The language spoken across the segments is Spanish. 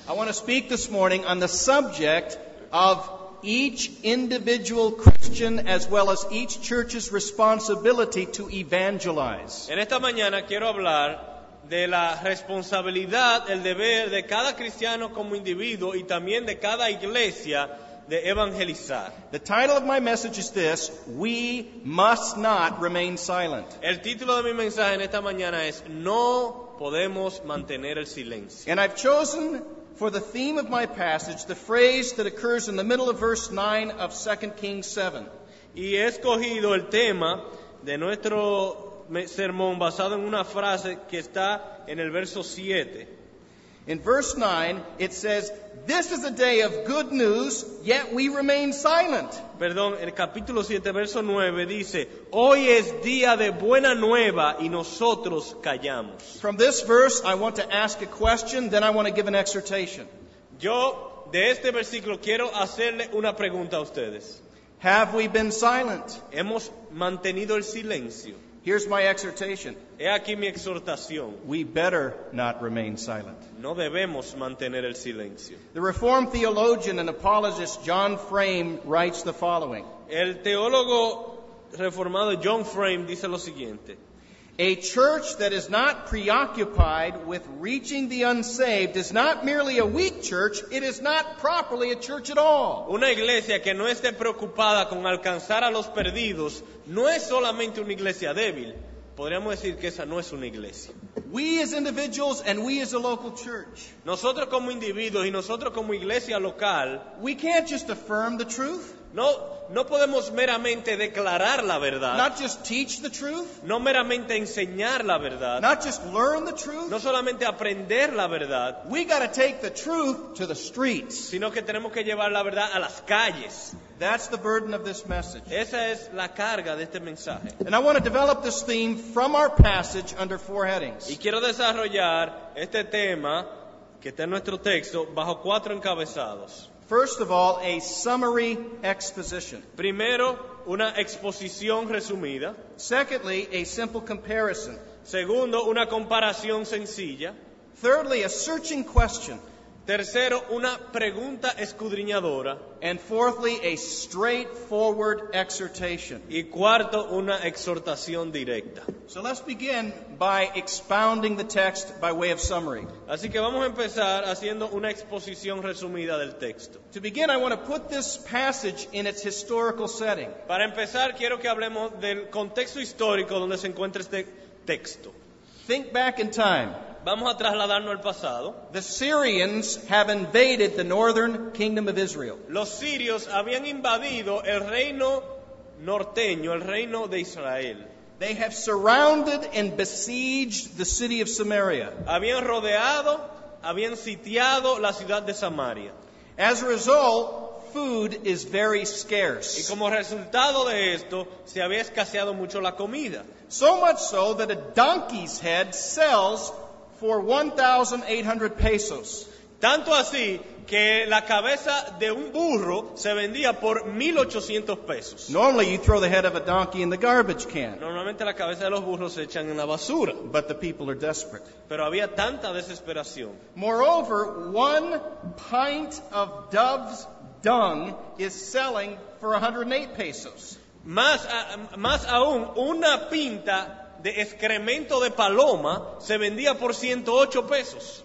I want to speak this morning on the subject of each individual Christian as well as each church's responsibility to evangelize. En esta mañana quiero hablar de la responsabilidad, el deber de cada cristiano como individuo y también de cada iglesia de evangelizar. The title of my message is this: We must not remain silent. El título de mi mensaje en esta mañana es No podemos mantener el silencio. And I've chosen for the theme of my passage the phrase that occurs in the middle of verse 9 of 2 Kings 7. Y he escogido el tema de nuestro sermón basado en una frase que está en el verso 7. In verse 9, it says, "This is a day of good news, yet we remain silent." Perdón, el capítulo 7, verso 9 dice, hoy es día de buena nueva y nosotros callamos. From this verse, I want to ask a question, then I want to give an exhortation. Yo de este versículo quiero hacerle una pregunta a ustedes. Have we been silent? ¿Hemos mantenido el silencio? Here's my exhortation. He aquí mi exhortación. We better not remain silent. No debemos mantener el silencio. The Reformed theologian and apologist John Frame writes the following. El teólogo reformado John Frame dice lo siguiente. A church that is not preoccupied with reaching the unsaved is not merely a weak church, it is not properly a church at all. Una iglesia que no esté preocupada con alcanzar a los perdidos no es solamente una iglesia débil. Podríamos decir que esa no es una iglesia. We as individuals and we as a local church, Nosotros como individuos y nosotros como iglesia local, we can't just affirm the truth, no podemos meramente declarar la verdad, not just teach the truth, no meramente enseñar la verdad, not just learn the truth. no solamente aprender la verdad, We got to take the truth to the streets. sino que tenemos que llevar la verdad a las calles. That's the burden of this message. Esa es la carga de este mensaje. And I want to develop this theme from our passage under 4 headings. Y quiero desarrollar este tema que está en nuestro texto bajo 4 encabezados. First of all, a summary exposition. Primero, una exposición resumida. Secondly, a simple comparison. Segundo, una comparación sencilla. Thirdly, a searching question. Tercero, una pregunta escudriñadora. And fourthly, a straightforward exhortation. Y cuarto, una exhortación directa. So let's begin by expounding the text by way of summary. Así que vamos a empezar haciendo una exposición resumida del texto. To begin, I want to put this passage in its historical setting. Para empezar, quiero que hablemos del contexto histórico donde se encuentra este texto. Think back in time. Vamos a trasladarnos al pasado. The Syrians have invaded the northern kingdom of Israel. Los sirios habían invadido el reino norteño, el reino de Israel. They have surrounded and besieged the city of Samaria. Habían rodeado, habían sitiado la ciudad de Samaria. As a result, food is very Y scarce. como resultado de esto, se había escaseado mucho la comida. So much so that a donkey's head sells for 1,800 pesos. Tanto así que la cabeza de un burro se vendía por 1,800 pesos. Normally, you throw the head of a donkey in the garbage can, Normalmente la cabeza de los burros se echan en la basura, but the people are desperate. pero había tanta desesperación. Moreover, 1 pint of dove's dung is selling for 108 pesos. Más aún, una pinta de excremento de paloma se vendía por 108 pesos.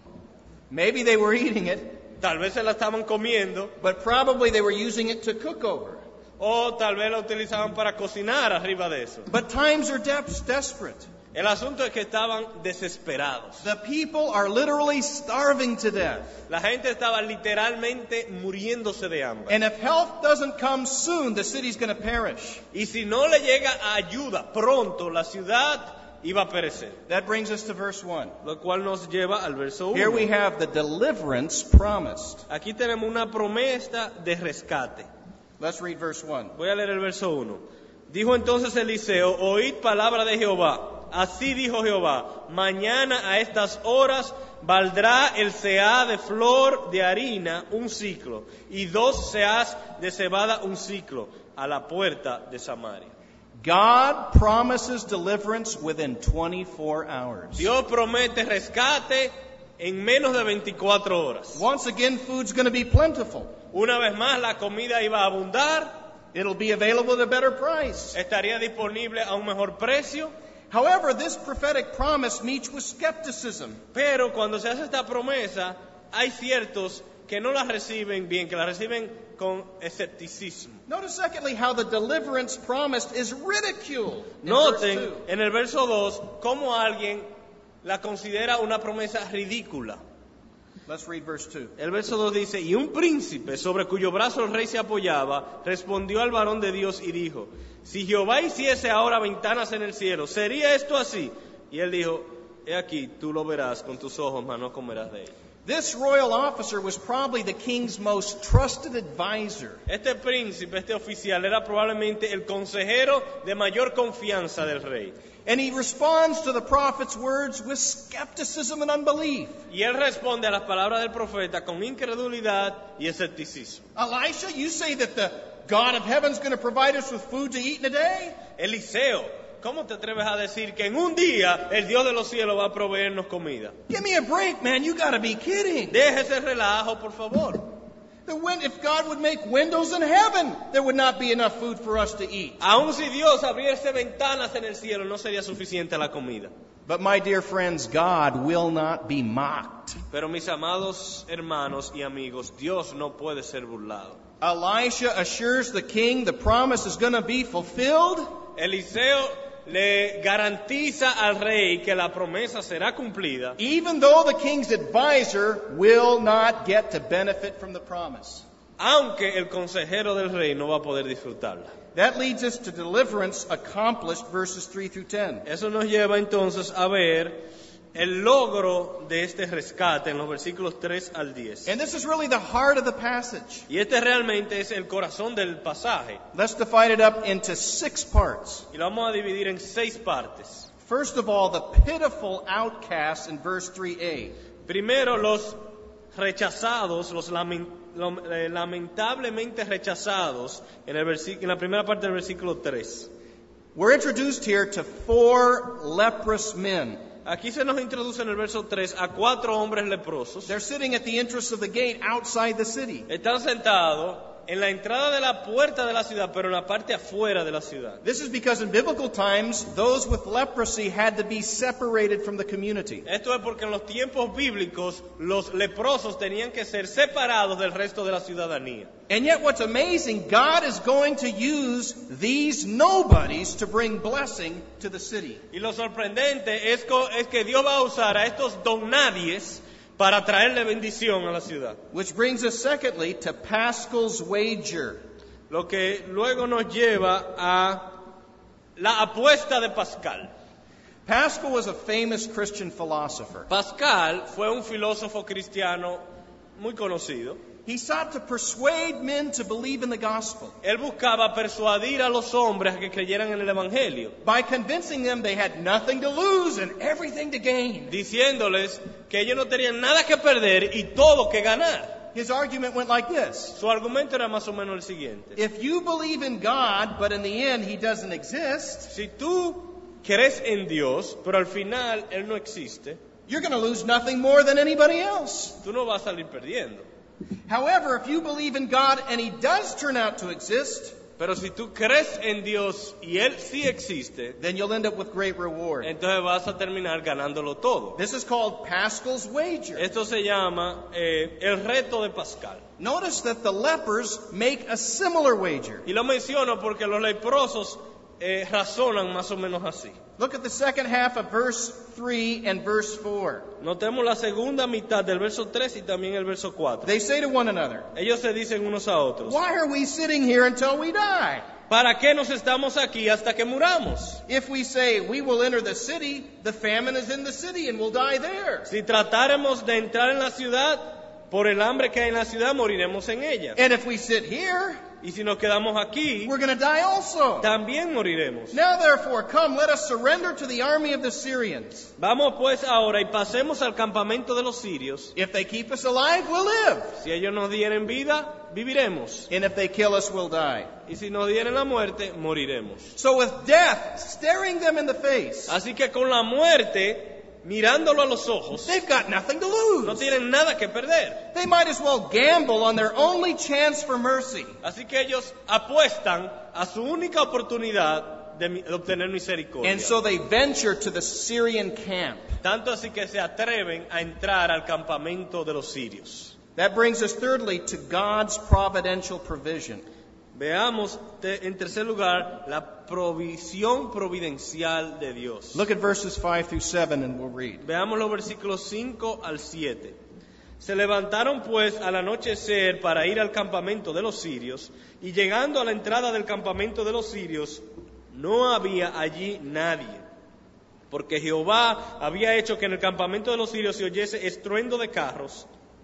Maybe they were eating it, Tal vez se la estaban comiendo, but probably they were using it to cook over. o tal vez la utilizaban para cocinar arriba de eso. But times are desperate. El asunto es que estaban desesperados. The people are literally starving to death. La gente estaba literalmente muriéndose de hambre. And if help doesn't come soon, the city's going to perish. Y si no le llega ayuda pronto, la ciudad iba a perecer. That brings us to verse 1. Lo cual nos lleva al verso 1. Here we have the deliverance promised. Aquí tenemos una promesa de rescate. Let's read verse 1. Voy a leer el verso 1. Dijo entonces Eliseo, oíd palabra de Jehová. Así dijo Jehová, mañana a estas horas valdrá el seah de flor de harina un ciclo, y 2 seahs de cebada un ciclo, a la puerta de Samaria. God promises deliverance within 24 hours. Dios promete rescate en menos de 24 horas. Once again, food's going to be plentiful. Una vez más, la comida iba a abundar, It'll be available at a better price. estaría disponible a un mejor precio. However, this prophetic promise meets with skepticism. Pero cuando se hace esta promesa, hay ciertos que no la reciben bien, que la reciben con escepticismo. Notice, secondly, how the deliverance promised is ridiculed. In verse Noten 2. en el verso 2 cómo alguien la considera una promesa ridícula. Let's read verse 2. El verso 2 dice, y un príncipe sobre cuyo brazo el rey se apoyaba, respondió al varón de Dios y dijo, si Jehová hiciese ahora ventanas en el cielo, ¿sería esto así? Y él dijo, he aquí, tú lo verás con tus ojos, mas no comerás de él. This royal officer was probably the king's most trusted advisor. Este príncipe, este oficial, era probablemente el consejero de mayor confianza del rey. And he responds to the prophet's words with skepticism and unbelief. Y él responde a las palabras del profeta con incredulidad y escepticismo. Elisha, you say that the God of heaven is going to provide us with food to eat in a day? Eliseo, ¿cómo te atreves a decir que en un día el Dios de los cielos va a proveernos comida? Give me a break, man. You got to be kidding. Deje ese relajo, por favor. If God would make windows in heaven, there would not be enough food for us to eat. Aun si Dios abriese ventanas en el cielo, no sería suficiente la comida. But my dear friends, God will not be mocked. Pero mis amados hermanos y amigos, Dios no puede ser burlado. Elisha assures the king the promise is going to be fulfilled. Eliseo le garantiza al rey que la promesa será cumplida, Even though the king's advisor will not get to benefit from the promise. aunque el consejero del rey no va a poder disfrutarla. That leads us to deliverance accomplished, verses 3 through 10. Eso nos lleva entonces a ver el logro de este rescate en los versículos 3 al 10. And this is really the heart of the passage. Y este realmente es el corazón del pasaje. Let's divide it up into 6 parts. Y lo vamos a dividir en 6 partes. First of all, the pitiful outcasts in verse 3a. Primero, los rechazados, los lamentablemente rechazados en la primera parte del versículo 3. We're introduced here to 4 leprous men. Aquí se nos introduce en el verso 3 a 4 hombres leprosos. They're sitting at the entrance of the gate outside the city. Están sentados en la entrada de la puerta de la ciudad, pero en la parte afuera de la ciudad. This is because in biblical times, those with leprosy had to be separated from the community. Esto es porque en los tiempos bíblicos los leprosos tenían que ser separados del resto de la ciudadanía. And yet what's amazing, God is going to use these nobodies to bring blessing to the city. Y lo sorprendente es que Dios va a usar a estos don nadies para traerle bendición a la ciudad. Which brings us secondly to Paschal's wager. Lo que luego nos lleva a la apuesta de Pascal. Paschal was a famous Christian philosopher. Pascal fue un filósofo cristiano muy conocido. He sought to persuade men to believe in the gospel Él buscaba persuadir a los hombres a que creyeran en el Evangelio, by convincing them they had nothing to lose and everything to gain. diciéndoles que ellos no tenían nada que perder y todo que ganar. His argument went like this. Su argumento era más o menos el siguiente. If you believe in God, but in the end he doesn't exist, Si tú crees en Dios, pero al final Él no existe, you're going to lose nothing more than anybody else. tú no vas a salir perdiendo. However, if you believe in God and he does turn out to exist, Pero si tú crees en Dios y Él sí existe, then you'll end up with great reward. entonces vas a terminar ganándolo todo. This is called Paschal's wager. Esto se llama el reto de Pascal. Notice that the lepers make a similar wager. Y lo menciono porque los leprosos razonan más o menos así. Look at the second half of verse 3 and verse 4. Notemos la segunda mitad del verso 3 y también el verso 4. They say to one another, Ellos se dicen unos a otros, "Why are we sitting here until we die? ¿para qué nos estamos aquí hasta que muramos? If we say we will enter the city, the famine is in the city and we'll die there. Si tratáramos de entrar en la ciudad, por el hambre que hay en la ciudad, moriremos en ella. And if we sit here, Y si nos quedamos aquí, we're going to die also. también moriremos. Now therefore, come, let us surrender to the army of the Syrians. Vamos pues ahora y pasemos al campamento de los sirios. If they keep us alive, we'll live. Si ellos nos dieren vida, viviremos. And if they kill us, we'll die." Y si nos dieren la muerte, moriremos. So with death staring them in the face, Así que con la muerte mirándolo a los ojos, they've got nothing to no lose. tienen nada que perder. They might as well gamble on their only chance for mercy. Así que ellos apuestan a su única oportunidad de obtener misericordia. And so they venture to the Syrian camp. Tanto así que se atreven a entrar al campamento de los sirios. That brings us thirdly to God's providential provision. Veamos en tercer lugar la provisión providencial de Dios. Look at verses 5 through 7 and we'll read. Veamos los versículos 5 al 7. Se levantaron pues al anochecer para ir al campamento de los sirios, y llegando a la entrada del campamento de los sirios, no había allí nadie, porque Jehová había hecho que en el campamento de los sirios se oyese estruendo de carros,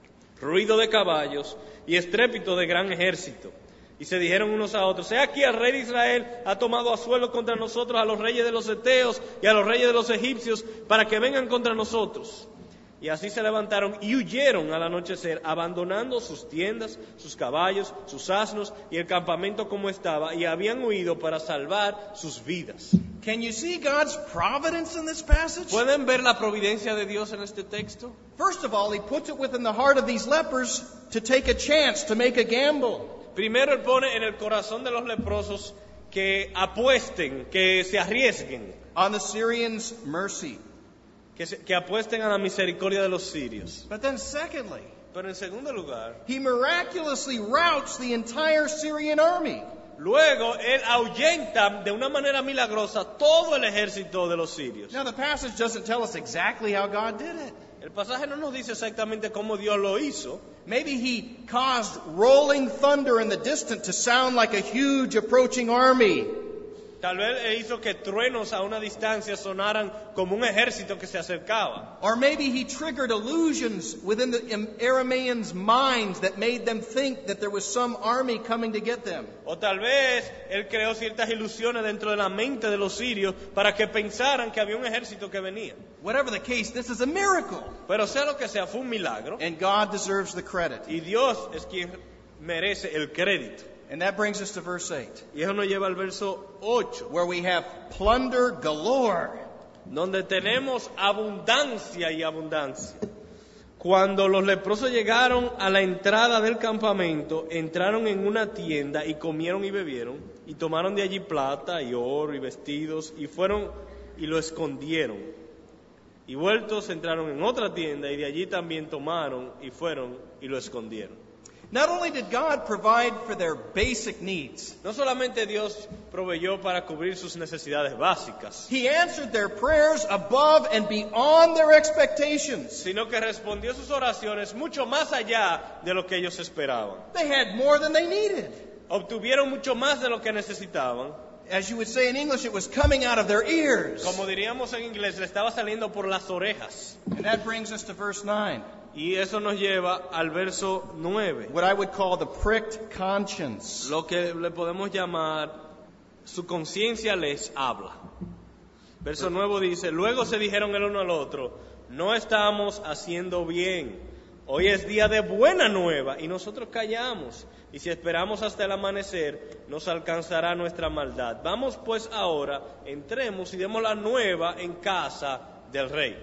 ruido de caballos y estrépito de gran ejército. Y se dijeron unos a otros: he aquí el rey de Israel ha tomado a suelo contra nosotros a los reyes de los heteos y a los reyes de los egipcios, para que vengan contra nosotros. Y así se levantaron y huyeron al anochecer, abandonando sus tiendas, sus caballos, sus asnos y el campamento como estaba, y habían huido para salvar sus vidas. Can you see God's providence in this passage? ¿Pueden ver la providencia de Dios en este texto? First of all, he puts it within the heart of these lepers to take a chance, to make a gamble. Primero Él pone en el corazón de los leprosos que apuesten, que se arriesguen, On the Syrians' mercy. que apuesten a la misericordia de los sirios. But then secondly, Pero en segundo lugar, he miraculously routs the entire Syrian army. luego Él ahuyenta de una manera milagrosa todo el ejército de los sirios. Now the passage doesn't tell us exactly how God did it. El pasaje no nos dice exactamente cómo Dios lo hizo. Maybe he caused rolling thunder in the distance to sound like a huge approaching army. Tal vez Él hizo que truenos a una distancia sonaran como un ejército que se acercaba. Or maybe he triggered illusions within the Arameans' minds that made them think that there was some army coming to get them. O tal vez Él creó ciertas ilusiones dentro de la mente de los sirios para que pensaran que había un ejército que venía. Whatever the case, this is a miracle. Pero sea lo que sea, fue un milagro. And God deserves the credit. Y Dios es quien merece el crédito. And that brings us to verse 8, Y eso nos lleva al verso 8, where we have plunder galore. donde tenemos abundancia y abundancia. Cuando los leprosos llegaron a la entrada del campamento, entraron en una tienda y comieron y bebieron, y tomaron de allí plata y oro y vestidos, y fueron y lo escondieron. Y vueltos entraron en otra tienda, y de allí también tomaron y fueron y lo escondieron. Not only did God provide for their basic needs, No solamente Dios proveyó para cubrir sus necesidades básicas, He answered their prayers above and beyond their expectations. sino que respondió sus oraciones mucho más allá de lo que ellos esperaban. They had more than they needed. Obtuvieron mucho más de lo que necesitaban. As you would say in English, it was coming out of their ears. Como diríamos en inglés, le estaba saliendo por las orejas. And that brings us to verse 9, Y eso nos lleva al verso 9, what I would call the pricked conscience. lo que le podemos llamar su conciencia les habla. Verso 9 dice: luego se dijeron el uno al otro: no estamos haciendo bien. Hoy es día de buena nueva y nosotros callamos. Y si esperamos hasta el amanecer, nos alcanzará nuestra maldad. Vamos pues ahora, entremos y demos la nueva en casa del rey.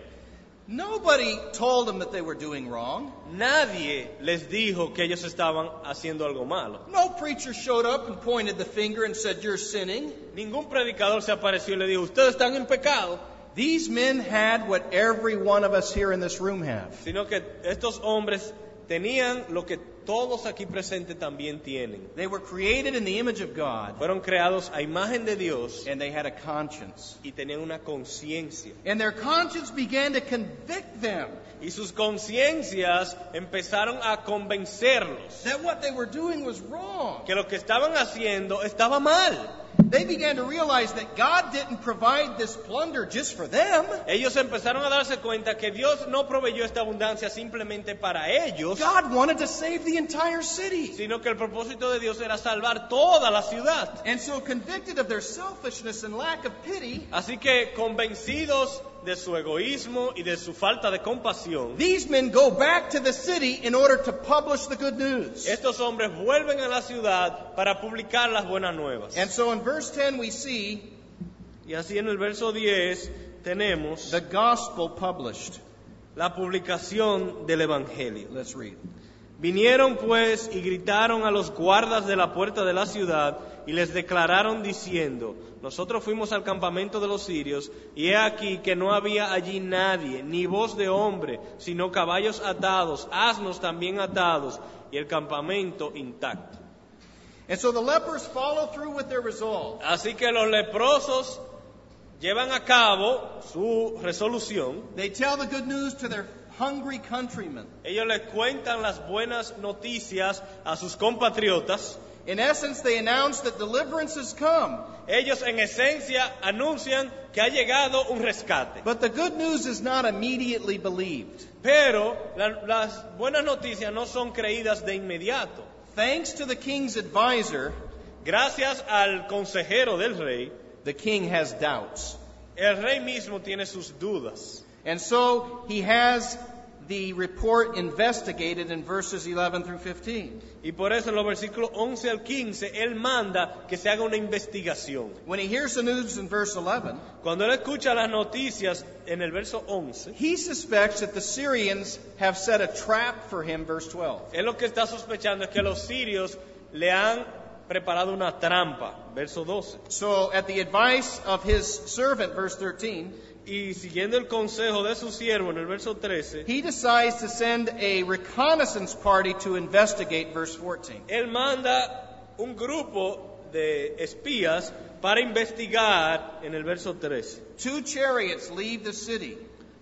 Nobody told them that they were doing wrong. Nadie les dijo que ellos estaban haciendo algo malo. No preacher showed up and pointed the finger and said, "You're sinning." Ningún predicador se apareció y le dijo: ustedes están en pecado. These men had what every one of us here in this room have. Sino que estos hombres tenían lo que todos aquí presentes también tienen. They were created in the image of God, Fueron creados a imagen de Dios and they had a conscience. y tenían una conciencia. And their conscience began to convict them Y sus conciencias empezaron a convencerlos that what they were doing was wrong. que lo que estaban haciendo estaba mal. They began to realize that God didn't provide this plunder just for them. Ellos empezaron a darse cuenta que Dios no proveyó esta abundancia simplemente para ellos, God wanted to save the entire city. sino que el propósito de Dios era salvar toda la ciudad. And so, convicted of their selfishness and lack of pity, Así que, convencidos de su egoísmo y de su falta de compasión, these men go back to the city in order to publish the good news. estos hombres vuelven a la ciudad para publicar las buenas nuevas. And so in verse 10 we see Y así en el verso 10 tenemos the gospel published. la publicación del Evangelio. Let's read. Vinieron pues y gritaron a los guardas de la puerta de la ciudad y les declararon diciendo: nosotros fuimos al campamento de los sirios y he aquí que no había allí nadie, ni voz de hombre, sino caballos atados, asnos también atados y el campamento intacto. And so the lepers follow through with their resolve. Así que los leprosos llevan a cabo su resolución. They tell the good news to their hungry countrymen. Ellos les cuentan las buenas noticias a sus compatriotas. In essence, they announce that deliverance has come. Ellos en esencia anuncian que ha llegado un rescate. But the good news is not immediately believed. Pero las buenas noticias no son creídas de inmediato. Thanks to the king's advisor, Gracias al consejero del rey, the king has doubts. el rey mismo tiene sus dudas. And so he has the report investigated in verses 11 through 15. Y por eso en los versículos 11 al 15, él manda que se haga una investigación. When he hears the news in verse 11, Cuando él escucha las noticias en el verso 11, he suspects that the Syrians have set a trap for him, verse 12. él lo que está sospechando es que los sirios le han preparado una trampa, verso 12. So at the advice of his servant, verse 13, Y siguiendo el consejo de su siervo en el verso 13, he decides to send a reconnaissance party to investigate, verse 14. él manda un grupo de espías para investigar en el verso 13. 2 chariots leave the city,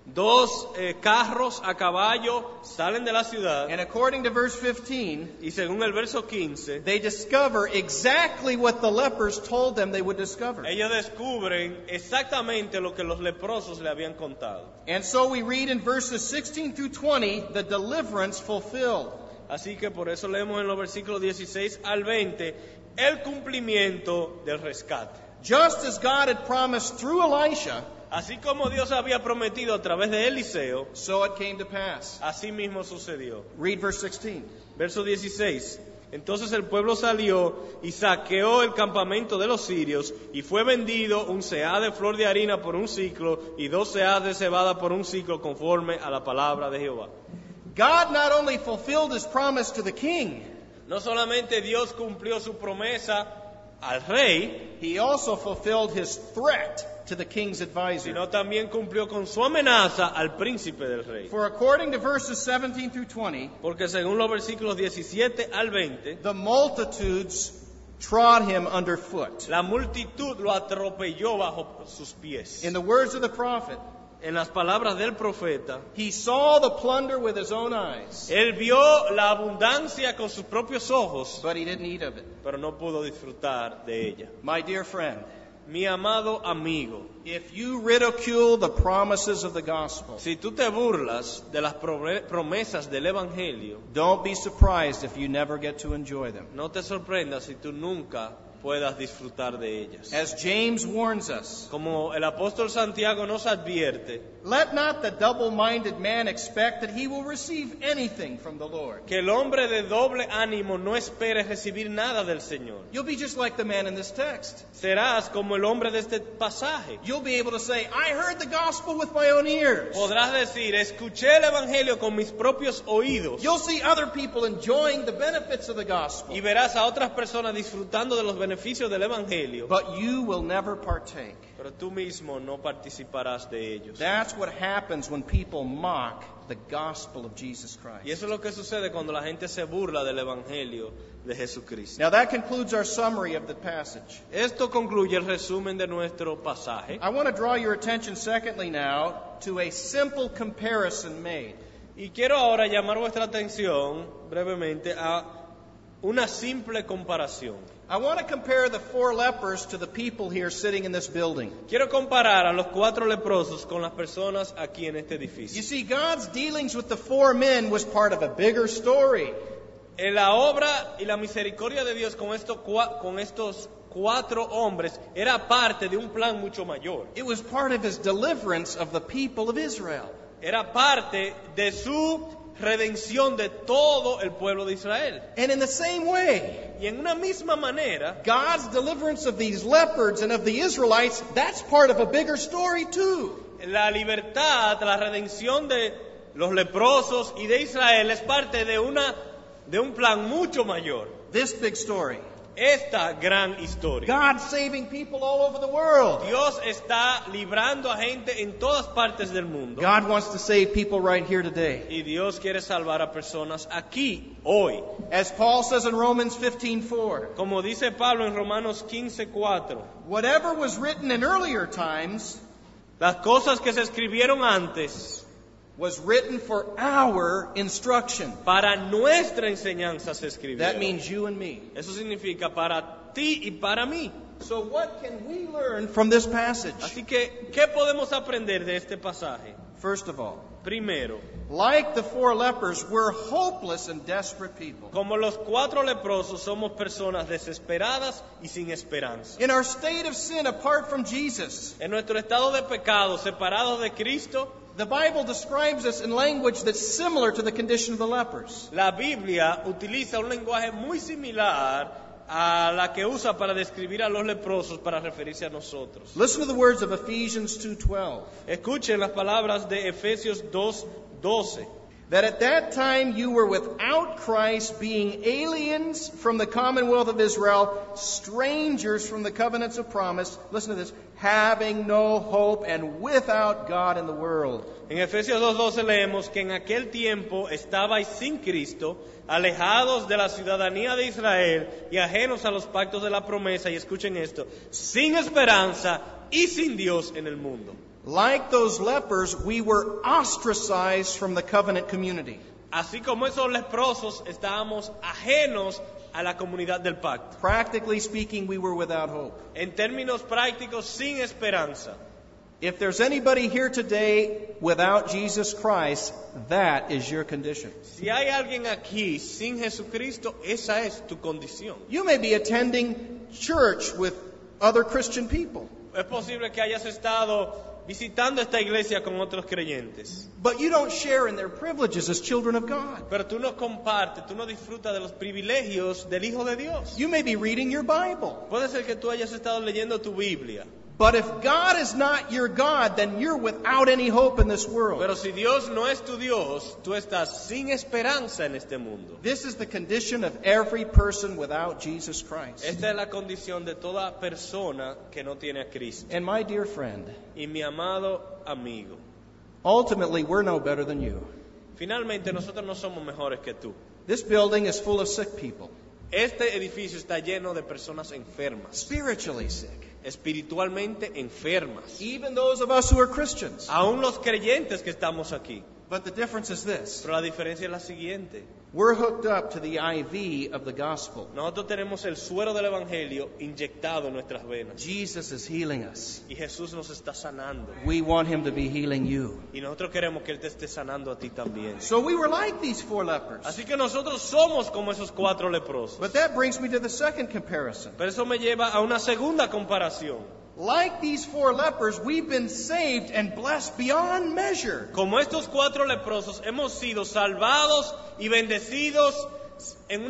Dos carros a caballo salen de la ciudad and according to verse 15, y según el verso 15, they discover exactly what the lepers told them they would discover. ellos descubren exactamente lo que los leprosos le habían contado. And so we read in verses 16 through 20, the deliverance fulfilled. Así que por eso leemos en los versículos 16 al 20 el cumplimiento del rescate. Just as God had promised through Elisha, Así como Dios había prometido a través de Eliseo, so it came to pass. así mismo sucedió. Read verse 16. Verso 16. Entonces el pueblo salió y saqueó el campamento de los sirios y fue vendido un seá de flor de harina por un ciclo y 2 seás de cebada por un ciclo conforme a la palabra de Jehová. God not only fulfilled his promise to the king, No solamente Dios cumplió su promesa al rey, he also fulfilled his threat to the king's advisor. sino también cumplió con su amenaza al príncipe del rey. For according to verses 17 through 20, Porque según los versículos 17 al 20, the multitudes trod him underfoot. la multitud lo atropelló bajo sus pies. In the words of the prophet, En las palabras del profeta, he saw the plunder with his own eyes, él vio la abundancia con sus propios ojos, but he didn't eat of it. pero no pudo disfrutar de ella. My dear friend, Mi amado amigo, if you ridicule the promises of the gospel, si tú te burlas de las promesas del Evangelio, don't be surprised if you never get to enjoy them. no te sorprendas si tú nunca puedas disfrutar de ellas. As James warns us, Como el apóstol Santiago nos advierte, let not the double-minded man expect that he will receive anything from the Lord. que el hombre de doble ánimo no espere recibir nada del Señor. You'll be just like the man in this text. Serás como el hombre de este pasaje. You'll be able to say, I heard the gospel with my own ears. Podrás decir, escuché el Evangelio con mis propios oídos. You'll see other people enjoying the benefits of the gospel, Y verás a otras personas disfrutando de los beneficios del Evangelio, but you will never partake. pero tú mismo no participarás de ellos. That's what happens when people mock the gospel of Jesus Y Christ. eso es lo que sucede cuando la gente se burla del Evangelio de Jesucristo. Now that concludes our summary of the passage. Esto concluye el resumen de nuestro pasaje. I want to draw your attention secondly now to a simple comparison made. Y quiero ahora llamar vuestra atención brevemente a una simple comparación. I want to compare the 4 lepers to the people here sitting in this building. Quiero comparar a los 4 leprosos con las personas aquí en este You edificio. see, God's dealings with the 4 men was part of a bigger story. En la obra y la misericordia de Dios con estos 4 hombres era parte de un plan mucho mayor. It was part of his deliverance of the people of Israel. Era parte de su redención de todo el pueblo de Israel. And in the same way, Y en una misma manera, God's deliverance of these lepers and of the Israelites, that's part of a bigger story too. la libertad, la redención de los leprosos y de Israel es parte de un plan mucho mayor. This big story. Esta gran historia. God saving people all over the world. Dios está librando a gente en todas partes del mundo. God wants to save people right here today. Y Dios quiere salvar a personas aquí, hoy. As Paul says in Romans 15:4, Como dice Pablo en Romanos 15:4, whatever was written in earlier times las cosas que se escribieron antes was written for our instruction. para nuestra enseñanza se escribieron. That means you and me. Eso significa para ti y para mí. So what can we learn from this passage? Así que, ¿qué podemos aprender de este pasaje? First of all, Primero, like the 4 lepers, we're hopeless and desperate people. como los 4 leprosos, somos personas desesperadas y sin esperanza. In our state of sin apart from Jesus, En nuestro estado de pecado, separados de Cristo, the Bible describes us in language that's similar to the condition of the lepers. la Biblia utiliza un lenguaje muy similar a la que usa para describir a los leprosos para referirse a nosotros. Listen to the words of Ephesians 2:12. Escuchen las palabras de Efesios 2:12. That at that time you were without Christ, being aliens from the commonwealth of Israel, strangers from the covenants of promise. Listen to this. Having no hope and without God in the world. En Efesios 2:12 leemos que en aquel tiempo estabais sin Cristo, alejados de la ciudadanía de Israel y ajenos a los pactos de la promesa, y escuchen esto, sin esperanza y sin Dios en el mundo. Like those lepers, we were ostracized from the covenant community. Así como esos leprosos, estábamos ajenos a la comunidad del pacto. Practically speaking, we were without hope. En términos prácticos, sin esperanza. If there's anybody here today without Jesus Christ, that is your condition. Si hay alguien aquí sin Jesucristo, esa es tu condición. You may be attending church with other Christian people, Es posible que hayas estado visitando esta iglesia con otros creyentes, but you don't share in their privileges as children of God. pero tú no compartes, tú no disfrutas de los privilegios del Hijo de Dios. You may be reading your Bible, Puede ser que tú hayas estado leyendo tu Biblia, but if God is not your God, then you're without any hope in this world. pero si Dios no es tu Dios, tú estás sin esperanza en este mundo. This is the condition of every person without Jesus Christ. Esta es la condición de toda persona que no tiene a Cristo. And my dear friend, Y mi amado amigo, ultimately we're no better than you. finalmente nosotros no somos mejores que tú. This building is full of sick people, Este edificio está lleno de personas enfermas, spiritually sick. espiritualmente enfermas. Even those of us who are Christians. Aún los creyentes que estamos aquí. But the difference is this. Pero la diferencia es la siguiente. We're hooked up to the IV of the gospel. Nosotros tenemos el suero del Evangelio inyectado en nuestras venas. Jesus is healing us. Y Jesús nos está sanando. We want him to be healing you. Y nosotros queremos que Él te esté sanando a ti también. So we were like these 4 lepers. Así que nosotros somos como esos 4 leprosos. But that brings me to the second comparison. Pero eso me lleva a una segunda comparación. Like these 4 lepers, we've been saved and blessed beyond measure. Como estos 4 leprosos, hemos sido salvados y bendecidos en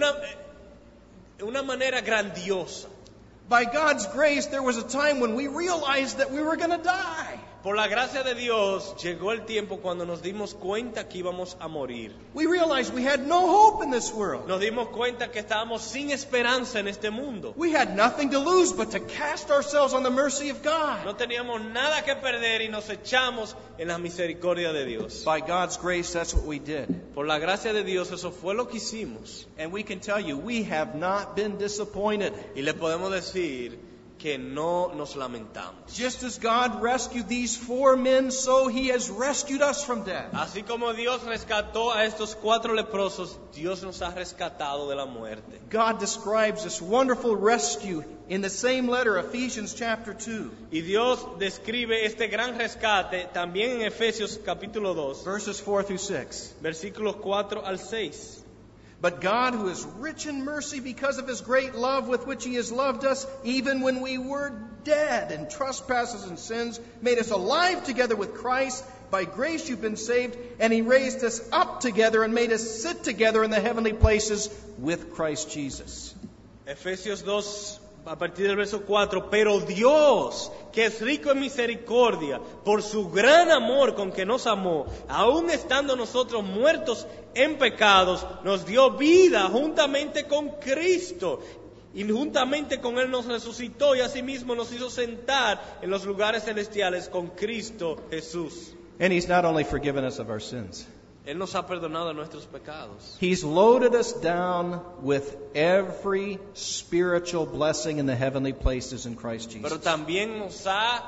una manera grandiosa. By God's grace, there was a time when we realized that we were going to die. Por la gracia de Dios, llegó el tiempo cuando nos dimos cuenta que íbamos a morir. We realized we had no hope in this world. Nos dimos cuenta que estábamos sin esperanza en este mundo. We had nothing to lose but to cast ourselves on the mercy of God. No teníamos nada que perder y nos echamos en la misericordia de Dios. By God's grace, that's what we did. Por la gracia de Dios, eso fue lo que hicimos. And we can tell you, we have not been disappointed. Y le podemos decir que no nos lamentamos. Just as God rescued these 4 men, so He has rescued us from death. Así como Dios rescató a estos 4 leprosos, Dios nos ha rescatado de la muerte. God describes this wonderful rescue in the same letter, Ephesians chapter 2, Y Dios describe este gran rescate también en Efesios capítulo 2, verses 4 through 6. versículos 4 al 6. But God, who is rich in mercy because of His great love with which He has loved us, even when we were dead in trespasses and sins, made us alive together with Christ. By grace you've been saved, and He raised us up together and made us sit together in the heavenly places with Christ Jesus. Efesios 2, a partir del verso 4, pero Dios, que es rico en misericordia, por su gran amor con que nos amó, aun estando nosotros muertos en pecados, nos dio vida juntamente con Cristo, y juntamente con Él nos resucitó y asimismo nos hizo sentar en los lugares celestiales con Cristo Jesús. And He's not only forgiven us of our sins, Él nos ha perdonado de nuestros pecados. He's loaded us down with every spiritual blessing in the heavenly places in Christ Jesus. Pero también nos ha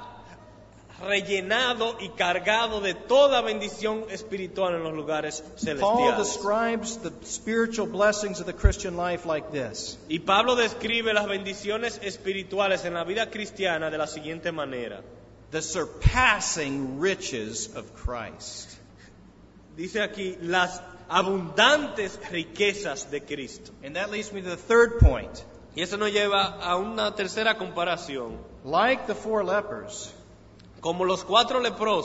rellenado y cargado de toda bendición espiritual en los lugares Paul celestiales. describes the spiritual blessings of the Christian life like this. Y Pablo describe las bendiciones espirituales en la vida cristiana de la siguiente manera. The surpassing riches of Christ. Dice aquí, las abundantes riquezas de Cristo. And that leads me to the third point. Y eso nos lleva a una tercera comparación. Like the 4 lepers, Como los 4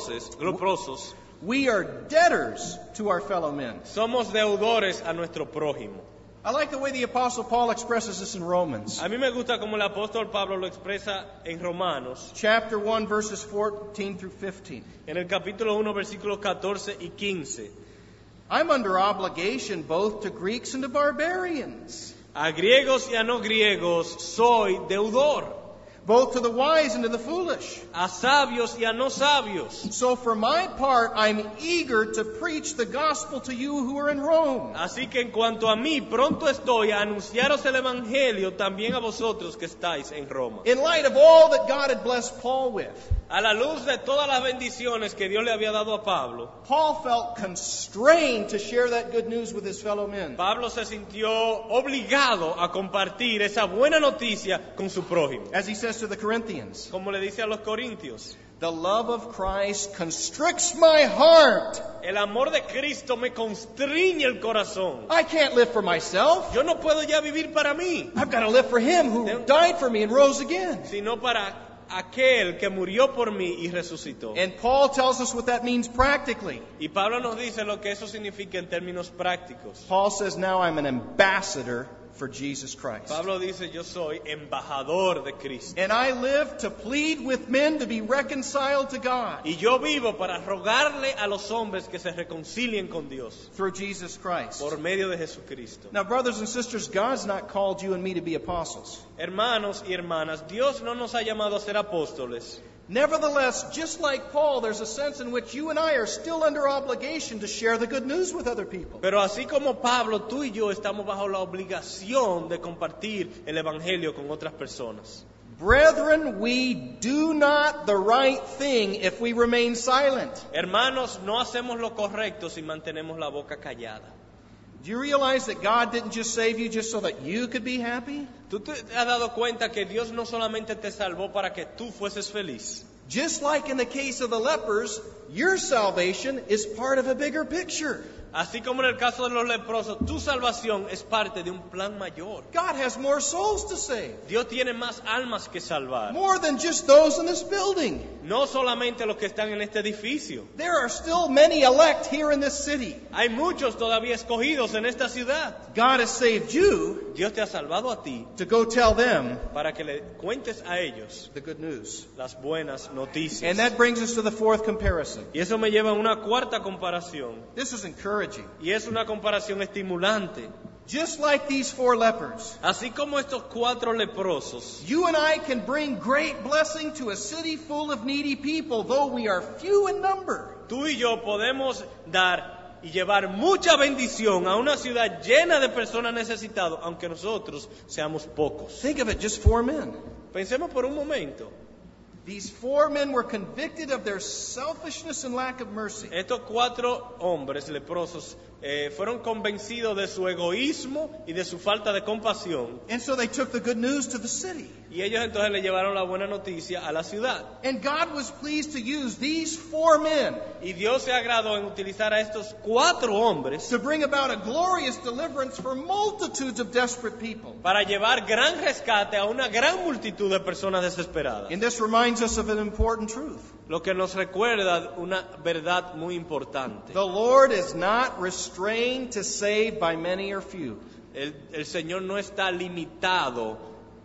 leprosos, we are debtors to our fellow men. somos deudores a nuestro prójimo. I like the way the Apostle Paul expresses this in Romans. A mí me gusta como el apóstol Pablo lo expresa en Romanos, Chapter 1, verses 14 through 15. en el capítulo 1, versículos 14 y 15. I'm under obligation both to Greeks and to barbarians, A griegos y a no griegos soy deudor, both to the wise and to the foolish. a sabios y a no sabios. So for my part, I'm eager to preach the gospel to you who are in Rome. Así que en cuanto a mí, pronto estoy a anunciaros el evangelio también a vosotros que estáis en Roma. In light of all that God had blessed Paul with, A la luz de todas las bendiciones que Dios le había dado a Pablo, Paul felt constrained to share that good news with his fellow men. Pablo se sintió obligado a compartir esa buena noticia con su prójimo. As he says to the Corinthians, Como le dice a los corintios, the love of Christ constricts my heart. el amor de Cristo me constriñe el corazón. I can't live for myself. Yo no puedo ya vivir para mí, I've got to live for him who died for me and rose again. sino para aquel que murió por mí y resucitó. And Paul tells us what that means practically. Y Pablo nos dice lo que eso significa en términos prácticos. Paul says, now I'm an ambassador for Jesus Christ. Pablo dice, yo soy embajador de Cristo. And I live to plead with men to be reconciled to God Y yo vivo para rogarle a los hombres que se reconcilien con Dios through Jesus Christ. por medio de Jesucristo. Now, brothers and sisters, God's not called you and me to be apostles. Hermanos y hermanas, Dios no nos ha llamado a ser apóstoles. Nevertheless, just like Paul, there's a sense in which you and I are still under obligation to share the good news with other people. Pero así como Pablo, tú y yo estamos bajo la obligación de compartir el evangelio con otras personas. Brethren, we do not the right thing if we remain silent. Hermanos, no hacemos lo correcto si mantenemos la boca callada. Do you realize that God didn't just save you just so that you could be happy? ¿Tú te has dado cuenta que Dios no solamente te salvó para que tú fueses feliz? Just like in the case of the lepers, your salvation is part of a bigger picture. Así como en el caso de los leprosos, tu salvación es parte de un plan mayor. God has more souls to save. Dios tiene más almas que salvar. More than just those in this building. No solamente los que están en este edificio. There are still many elect here in this city. Hay muchos todavía escogidos en esta ciudad. God has saved you Dios te ha salvado a ti to go tell them para que le cuentes a ellos the good news. las buenas noticias. And that brings us to the fourth comparison. Y eso me lleva a una cuarta comparación. This is encouraging. Y es una comparación estimulante. Just like these 4 lepers, Así como estos 4 leprosos, you and I can bring great blessing to a city full of needy people, though we are few in number. tú y yo podemos dar y llevar mucha bendición a una ciudad llena de personas necesitadas, aunque nosotros seamos pocos. Think of it, just 4 men. Pensemos por un momento. These 4 men were convicted of their selfishness and lack of mercy. Estos 4 hombres leprosos fueron convencidos de su egoísmo y de su falta de compasión. And so they took the good news to the city. Y ellos entonces le llevaron la buena noticia a la ciudad. And God was pleased to use these 4 men Y Dios se agradó en utilizar a estos 4 hombres to bring about a glorious deliverance for multitudes of desperate people. para llevar gran rescate a una gran multitud de personas desesperadas. And this reminds us of an important truth. Lo que nos recuerda una verdad muy importante. The Lord is not restrained to save by many or few. El Señor no está limitado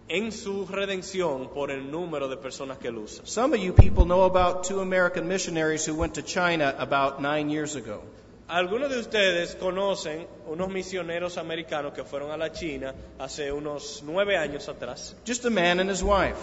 en su redención por el número de personas que él usa. Some of you people know about 2 American missionaries who went to China about 9 years ago. Algunos de ustedes conocen unos misioneros americanos que fueron a la China hace unos 9 años atrás. Just a man and his wife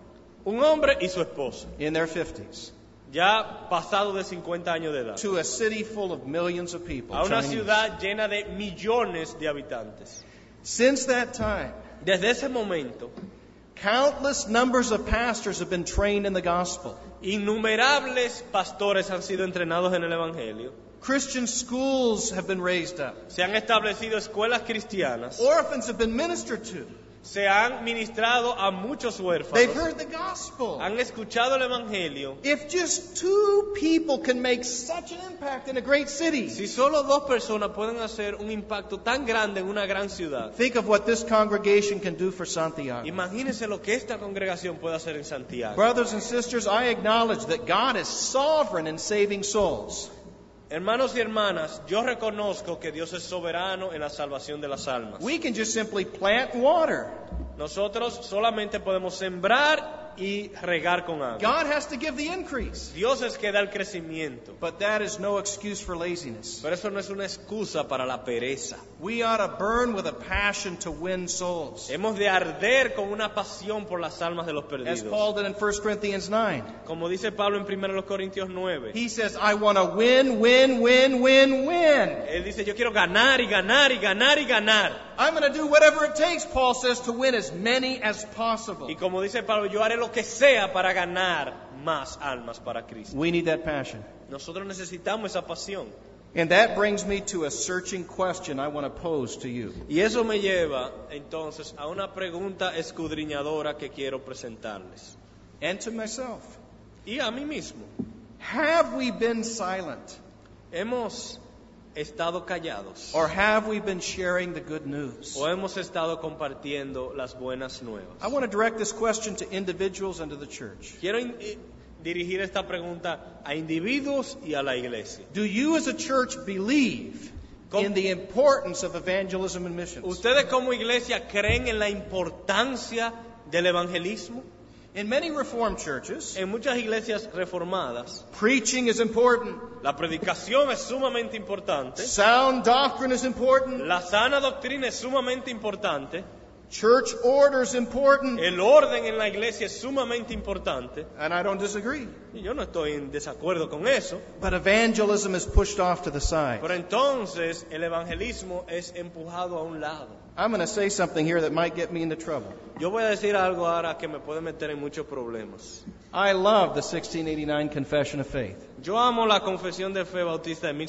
Un hombre y su esposa, in their 50s. ya pasado de 50 años de edad, To a city full of millions of people. a una Chinese. ciudad llena de millones de habitantes. Since that time, Desde ese momento, countless numbers of pastors have been trained in the gospel. innumerables pastores han sido entrenados en el Evangelio. Christian schools have been raised up. Se han establecido escuelas cristianas. Orphans have been ministered to. Se han ministrado a muchos They've huérfanos. heard the gospel. Han escuchado el Evangelio. If just 2 people can make such an impact in a great city, Si solo 2 personas pueden hacer un impacto tan grande en una gran ciudad, think of what this congregation can do for Santiago. imagínense lo que esta congregación puede hacer en Santiago. Brothers and sisters, I acknowledge that God is sovereign in saving souls. Hermanos y hermanas, yo reconozco que Dios es soberano en la salvación de las almas. We can just simply plant and water. Nosotros solamente podemos sembrar y regar con agua. God has to give the increase. Dios es que da el crecimiento. But that is no excuse for laziness. Pero eso no es una excusa para la pereza. We ought to burn with a passion to win souls. Hemos de arder con una pasión por las almas de los As perdidos. Paul did in 1 Corinthians 9. Como dice Pablo en 1 Corintios 9. He says, I want to win, win, win, win, win. Él dice, yo quiero ganar y ganar y ganar y ganar. I'm going to do whatever it takes, Paul says, to win as many as possible. Y como dice Pablo, yo haré lo que sea para ganar más almas para Cristo. We need that passion. Nosotros necesitamos esa pasión. And that brings me to a searching question I want to pose to you. Y eso me lleva entonces a una pregunta escudriñadora que quiero presentarles. And to myself. Y a mí mismo. Have we been silent? ¿Hemos estado callados? Or have we been sharing the good news? ¿O hemos estado compartiendo las buenas nuevas? I want to direct this question to individuals and to the church. Quiero dirigir esta pregunta a individuos y a la iglesia. Do you as a church believe in the importance of evangelism and missions? ¿Ustedes como iglesia creen en la importancia del evangelismo? In many Reformed churches, En muchas iglesias reformadas, preaching is important. la predicación es sumamente importante, Sound doctrine is important. la sana doctrina es sumamente importante, Church order is important. el orden en la iglesia es sumamente importante, And I don't disagree. y yo no estoy en desacuerdo con eso, But evangelism is pushed off to the side. pero entonces el evangelismo es empujado a un lado. I'm going to say something here that might get me into trouble. Yo voy a decir algo ahora que me puede meter en muchos problemas. I love the 1689 Confession of Faith. Yo amo la Confesión de Fe Bautista de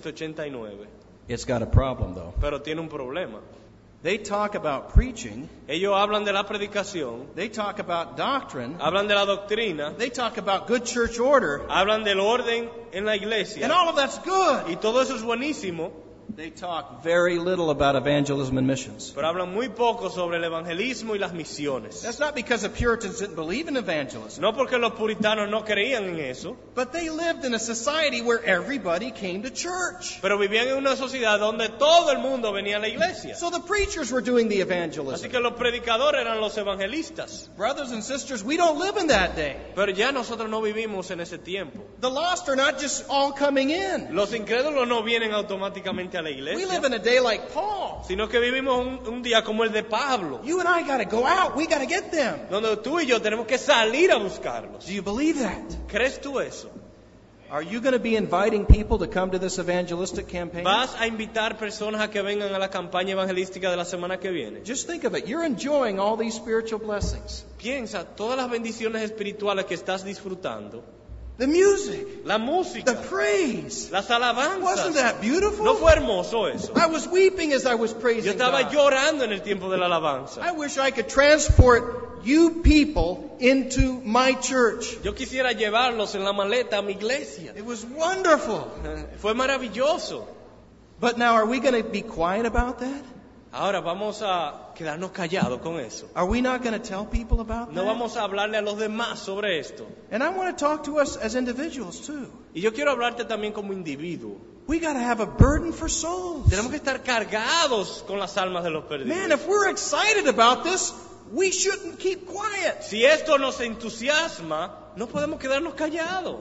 1689, It's got a problem, though. pero tiene un problema. They talk about preaching. Ellos hablan de la predicación, They talk about doctrine. hablan de la doctrina, They talk about good church order. hablan del orden en la iglesia, And all of that's good. y todo eso es buenísimo, They talk very little about evangelism and missions. pero hablan muy poco sobre el evangelismo y las misiones. That's not because the Puritans didn't believe in evangelism, No porque los puritanos no creían en eso, but they lived in a society where everybody came to church. pero vivían en una sociedad donde todo el mundo venía a la iglesia. So the preachers were doing the Así evangelism. que los predicadores eran los evangelistas. Brothers and sisters, we don't live in that day. Pero ya nosotros no vivimos en ese tiempo. The lost are not just all coming in. Los incrédulos no vienen automáticamente a la We live iglesia, in a day like Paul. sino que vivimos un día como el de Pablo, You and I got to go out. We got to get them. donde tú y yo tenemos que salir a buscarlos. Do you believe that? ¿Crees tú eso? Are you going to be inviting people to come to this evangelistic campaign? ¿Vas a invitar personas a que vengan a la campaña evangelística de la semana que viene? Just think of it. You're enjoying all these spiritual blessings. Piensa todas las bendiciones espirituales que estás disfrutando. The music, La the música, praise. las Wasn't alabanzas. that beautiful? ¿No fue hermoso eso? I was weeping as I was Yo praising estaba God. llorando en el tiempo de la I alabanza. wish I could transport you people into my church. Yo quisiera llevarlos en la maleta a mi iglesia. It was wonderful. Fue maravilloso. But now, are we going to be quiet about that? Ahora vamos a quedarnos callados con eso. Are we not going to tell people about No that? vamos a hablarle a los demás sobre esto. And I want to talk to us as individuals too. Y yo quiero hablarte también como individuo. We got to have a burden for souls. Tenemos que estar cargados con las almas de los Man, perdidos. if we're excited about this, we shouldn't keep quiet. Si esto nos entusiasma, no podemos quedarnos callados.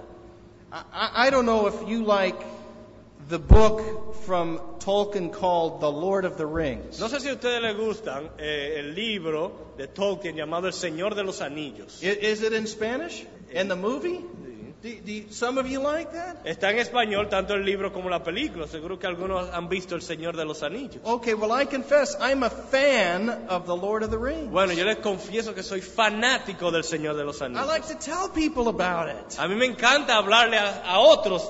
I don't know if you like the book from Tolkien called The Lord of the Rings. No sé si a ustedes les gustan el libro de Tolkien llamado El Señor de los Anillos. Is it in Spanish? And the movie? Some of you like that? Está en español tanto el libro como la película. Seguro que algunos han visto El Señor de los Anillos. Okay, well, I confess I'm a fan of The Lord of the Rings. Bueno, yo les confieso que soy fanático del Señor de los I Anillos. like to tell people about it. A mí me encanta hablarle a otros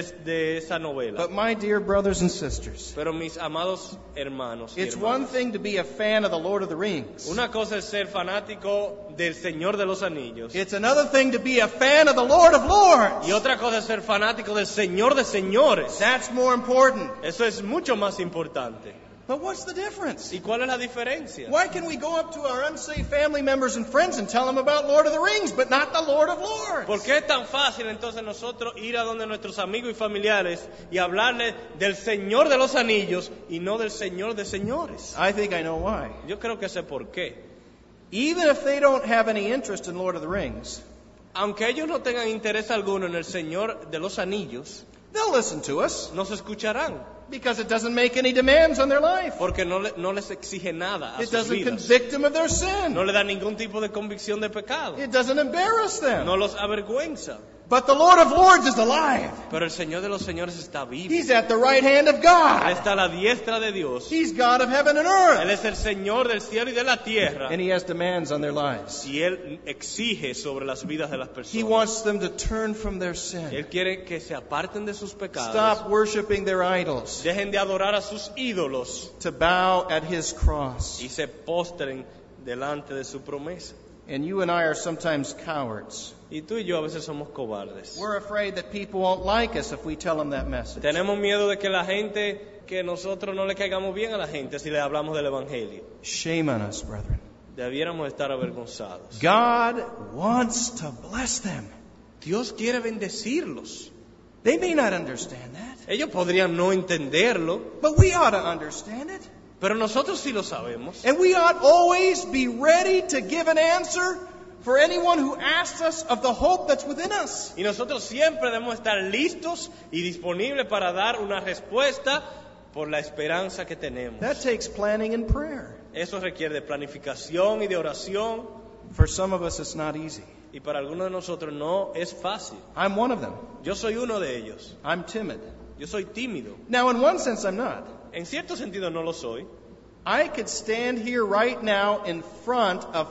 de esa novela. But my dear brothers and sisters, Pero mis amados hermanos y it's one hermanas, thing to be a fan of The Lord of the Rings. una cosa es ser fanático del Señor de los Anillos. It's another thing to be a fan of the Lord of Lords. Y otra cosa es ser fanático del Señor de señores. That's more important. Eso es mucho más importante. But what's the difference? ¿Y cuál es la diferencia? Why can we go up to our unsaved family members and friends and tell them about Lord of the Rings, but not the Lord of Lords? ¿Por qué es tan fácil entonces nosotros ir a donde nuestros amigos y familiares y hablarles del Señor de los Anillos y no del Señor de señores? I think I know why. Yo creo que sé por qué. Even if they don't have any interest in Lord of the Rings, Aunque ellos no tengan interés alguno en el Señor de los Anillos, they'll listen to us nos escucharán because it doesn't make any demands on their life. porque no les exige nada a It sus doesn't vidas. convict them of their sin. No le da ningún tipo de convicción de pecado. It doesn't embarrass them. No los avergüenza. But the Lord of Lords is alive. Pero el Señor de los señores está vivo. He's at the right hand of Él God. está a la diestra de Dios. He's God of heaven and Él earth. es el Señor del cielo y de la tierra. And He has demands on their lives. Y Él exige sobre las vidas de las He personas. wants them to turn from their sin. Él quiere que se aparten de sus pecados. Stop worshiping their idols. Dejen de adorar a sus ídolos. To bow at His cross. Y se postren delante de su promesa. And you and I are sometimes cowards. Y tú y yo a veces somos cobardes. We're afraid that people won't like us if we tell them that message. Tenemos miedo de que la gente, que nosotros no le caigamos bien a la gente si le hablamos del Evangelio. Shame on us, brethren. Debiéramos estar avergonzados. God wants to bless them. Dios quiere bendecirlos. They may not understand that, Ellos podrían no entenderlo, but we ought to understand it. pero nosotros sí lo sabemos. And we ought always be ready to give an answer for anyone who asks us of the hope that's within us. Y nosotros siempre debemos estar listos y disponibles para dar una respuesta por la esperanza que tenemos. That takes planning and prayer. Eso requiere de planificación y de oración, For some of us, it's not easy. y para algunos de nosotros no es fácil. I'm one of them. Yo soy uno de ellos. I'm timid. Yo soy tímido. Now, in one sense, I'm not. En cierto sentido no lo soy. I could stand here right now in front of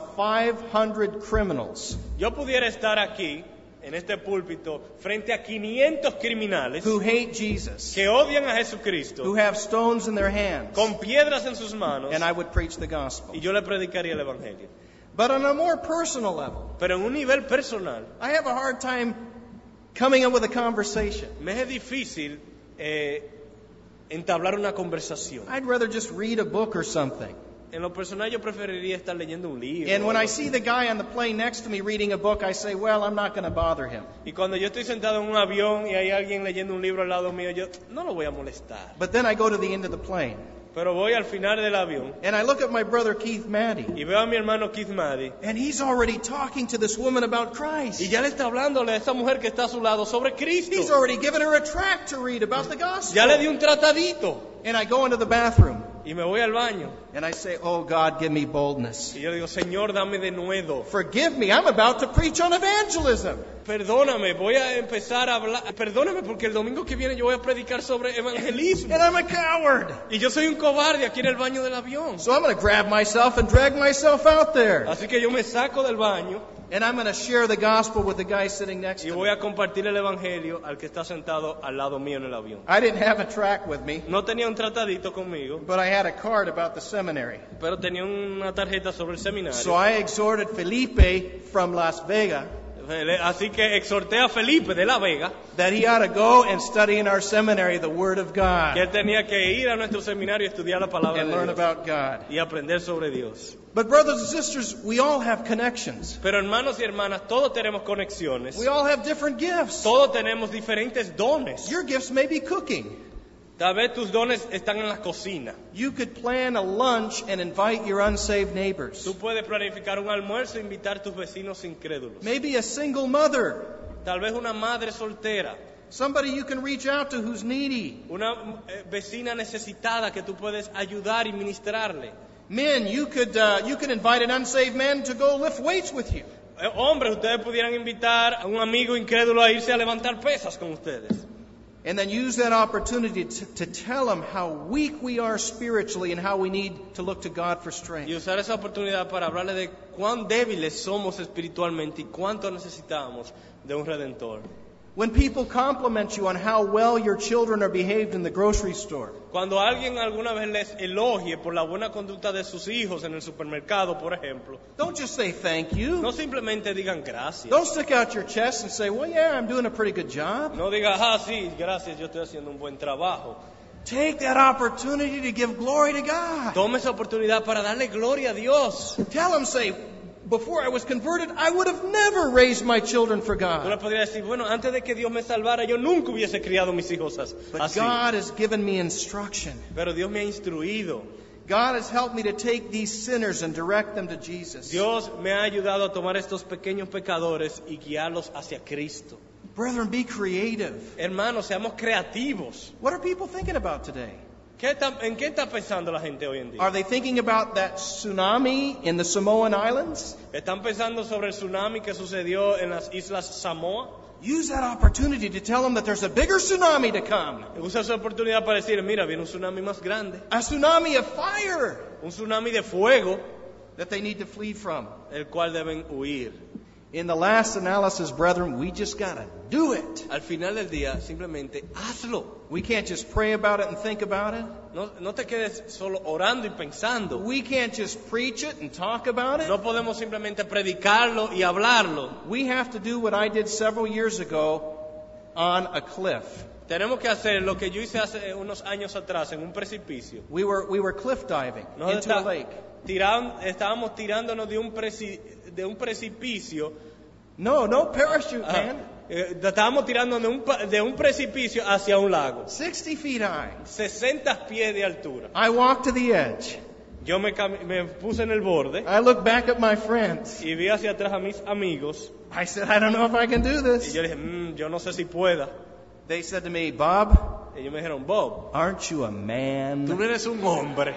500 criminals Yo pudiera estar aquí, en este púlpito, frente a 500 criminales who hate Jesus, que odian a Jesucristo, who have stones in their hands, con piedras en sus manos, and I would preach the gospel. y yo le predicaría el Evangelio. But on a more personal level, Pero en un nivel personal, I have a hard time coming up with a conversation. me es difícil entablar una conversación. I'd rather just read a book or something. En lo personal yo preferiría estar leyendo un libro. And when o I algo see así. the guy on the plane next to me reading a book, I say, well, I'm not going to bother him. Y cuando yo estoy sentado en un avión y hay alguien leyendo un libro al lado mío, yo no lo voy a molestar. But then I go to the end of the plane, Pero voy al final del avión and I look at my brother Keith Maddy, y veo a mi hermano Keith Maddy and he's already talking to this woman about Christ. y ya le está hablándole a esa mujer que está a su lado sobre Cristo. He's already given her a tract to read about the gospel. Ya le di un tratadito And I go into the bathroom, y me voy al baño and I say, oh, God, give me boldness. y yo digo, Señor, dame de nuevo. Forgive me, I'm about to preach on evangelism. Perdóname, voy a empezar a hablar. Perdóname porque el domingo que viene yo voy a predicar sobre evangelismo. And I'm a coward. Y yo soy un cobarde aquí en el baño del avión. So I'm going to grab myself and drag myself out there. Así que yo me saco del baño And I'm going to share the gospel with the guy sitting next y to voy me. a compartir el evangelio al que está sentado al lado mío en el avión. I didn't have a tract with me, No tenía un tratadito conmigo, but I had a card about the seminary. pero tenía una tarjeta sobre el seminario. So I exhorted Felipe from Las Vegas Así que exhorté a Felipe de La Vega that he ought to go and study in our seminary the Word of que God él tenía que ir a nuestro seminario a estudiar la palabra and de learn Dios about God. y aprender sobre Dios. But brothers and sisters, we all have connections. Pero hermanos y hermanas, todos tenemos conexiones, We all have different gifts. todos tenemos diferentes dones. Your gifts may be cooking. Tal vez tus dones están en la cocina. You could plan a lunch and invite your unsaved neighbors. Tú puedes planificar un almuerzo e invitar a tus vecinos incrédulos. Maybe a single mother. Tal vez una madre soltera. Somebody you can reach out to who's needy. Una vecina necesitada que tú puedes ayudar y ministrarle. Men, you could invite an unsaved man to go lift weights with you. Hombres, ustedes pudieran invitar a un amigo incrédulo a irse a levantar pesas con ustedes. And then use that opportunity to tell them how weak we are spiritually and how we need to look to God for strength. Y usar esa oportunidad para hablarle de cuán débiles somos espiritualmente y cuánto necesitamos de un Redentor. When people compliment you on how well your children are behaved in the grocery store, Cuando alguien alguna vez les elogie por la buena conducta de sus hijos en el supermercado, por ejemplo, don't just say thank you. no simplemente digan gracias. Don't stick out your chest and say, well, yeah, I'm doing a pretty good job. No digas, sí, gracias, yo estoy haciendo un buen trabajo. Take that opportunity to give glory to God. Tome esa oportunidad para darle gloria a Dios. Tell them, say, before I was converted, I would have never raised my children for Tú le God. podrías decir, bueno, antes de que Dios me salvara, yo nunca hubiese criado mis hijos But así. God has given me instruction. Pero Dios me ha instruido. God has helped me to take these sinners and direct them to Jesus. Dios me ha ayudado a tomar estos pequeños pecadores y guiarlos hacia Cristo. Brethren, be creative. Hermanos, seamos creativos. What are people thinking about today? ¿En qué está pensando la gente hoy en día? Are they thinking about that tsunami in the Samoan Islands? ¿Están pensando sobre el tsunami que sucedió en las islas Samoa? Use that opportunity to tell them that there's a bigger tsunami to come. Usa esa oportunidad para decir, mira, viene un tsunami más grande. A tsunami of fire Un tsunami de fuego, that they need to flee from. el cual deben huir. In the last analysis, brethren, we just gotta do it. Al final del día, simplemente hazlo. We can't just pray about it and think about it. No te quedes solo orando y pensando. We can't just preach it and talk about it. No podemos simplemente predicarlo y hablarlo. We have to do what I did several years ago on a cliff. Tenemos que hacer lo que yo hice hace unos años atrás en un precipicio. We were cliff diving into a lake. Estábamos tirándonos de un precipicio. No parachute, man. Estábamos tirando de un precipicio hacia un lago. 60 feet high. 60 pies de altura. I walked to the edge. Yo me puse en el borde I looked back at my friends. y vi hacia atrás a mis amigos. I said, I don't know if I can do Y this. yo le dije, yo no sé si pueda. They said to me, Bob, Ellos me dijeron, Bob, aren't you a tú man? no eres un hombre.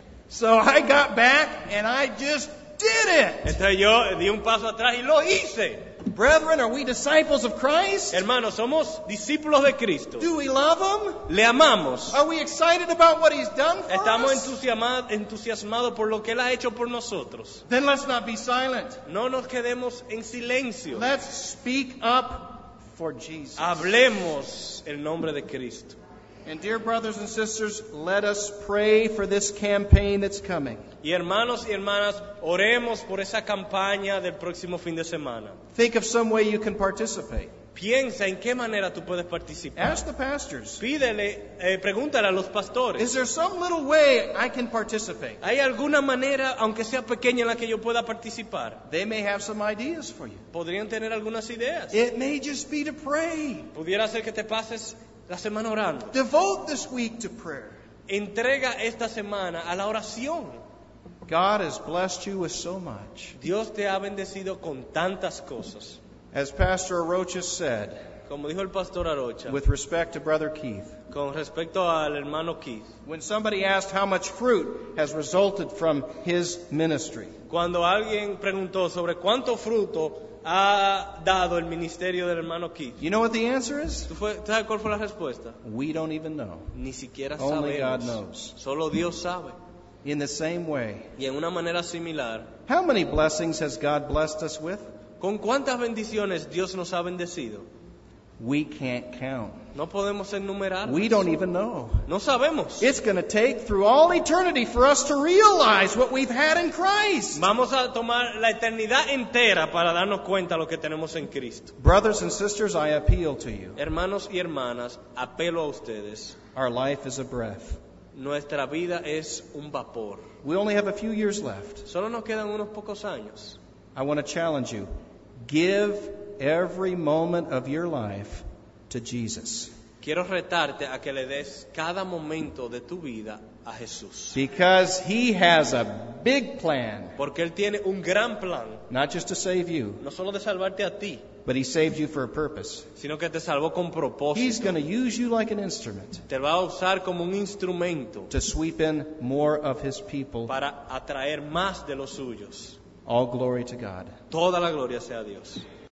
So I got back and I just did it. Entonces yo di un paso atrás y lo hice. Brethren, are we disciples of Christ? Hermanos, somos discípulos de Cristo. Do we love Him? Le amamos. Are we excited about what He's done for Estamos us? entusiasmados por lo que Él ha hecho por nosotros. Then let's not be silent. No nos quedemos en silencio. Let's speak up for Jesus. Hablemos el nombre de Cristo. And dear brothers and sisters, let us pray for this campaign that's coming. Y hermanos y hermanas, oremos por esa campaña del próximo fin de semana. Think of some way you can participate. Piensa en qué manera tú puedes participar. Ask the pastors. Pregúntale a los pastores. Is there some little way I can participate? ¿Hay alguna manera, aunque sea pequeña, en la que yo pueda participar? They may have some ideas for you. Podrían tener algunas ideas. It may just be to pray. Pudiera ser que te pases la semana orando. Devote this week to prayer. Entrega esta semana a la oración. God has blessed you with so much. Dios te ha bendecido con tantas cosas. As Pastor Arocha said, Como dijo el pastor Arocha, with respect to Brother Keith, con respecto al hermano Keith, when somebody asked how much fruit has resulted from his ministry, cuando alguien preguntó sobre cuánto fruto ha dado el ministerio del hermano Keith, you know what the answer is? ¿tú sabes cuál fue la respuesta? We don't even know. Ni siquiera Only God sabemos. knows. Solo Dios sabe. In the same way, Y en una manera similar, how many blessings has God blessed us with? ¿con cuántas bendiciones Dios nos ha bendecido? We can't count. No podemos enumerar. We don't even know. No sabemos. It's going to take through all eternity for us to realize what we've had in Christ. Vamos a tomar la eternidad entera para darnos cuenta de lo que tenemos en Cristo. Brothers and sisters, I appeal to you. Hermanos y hermanas, apelo a ustedes. Our life is a breath. Nuestra vida es un vapor. We only have a few years left. Solo nos quedan unos pocos años. I want to challenge you. Give every moment of your life to Jesus. quiero retarte a que le des cada momento de tu vida a Jesús. Because He has a big plan, Porque Él tiene un gran plan, not just to save you, no solo de salvarte a ti, but He saved you for a purpose. sino que te salvó con He's propósito. going to use you like an instrument Te va a usar como un instrumento to sweep in more of His people. para atraer más de los suyos. All glory to God. Toda la gloria sea a Dios.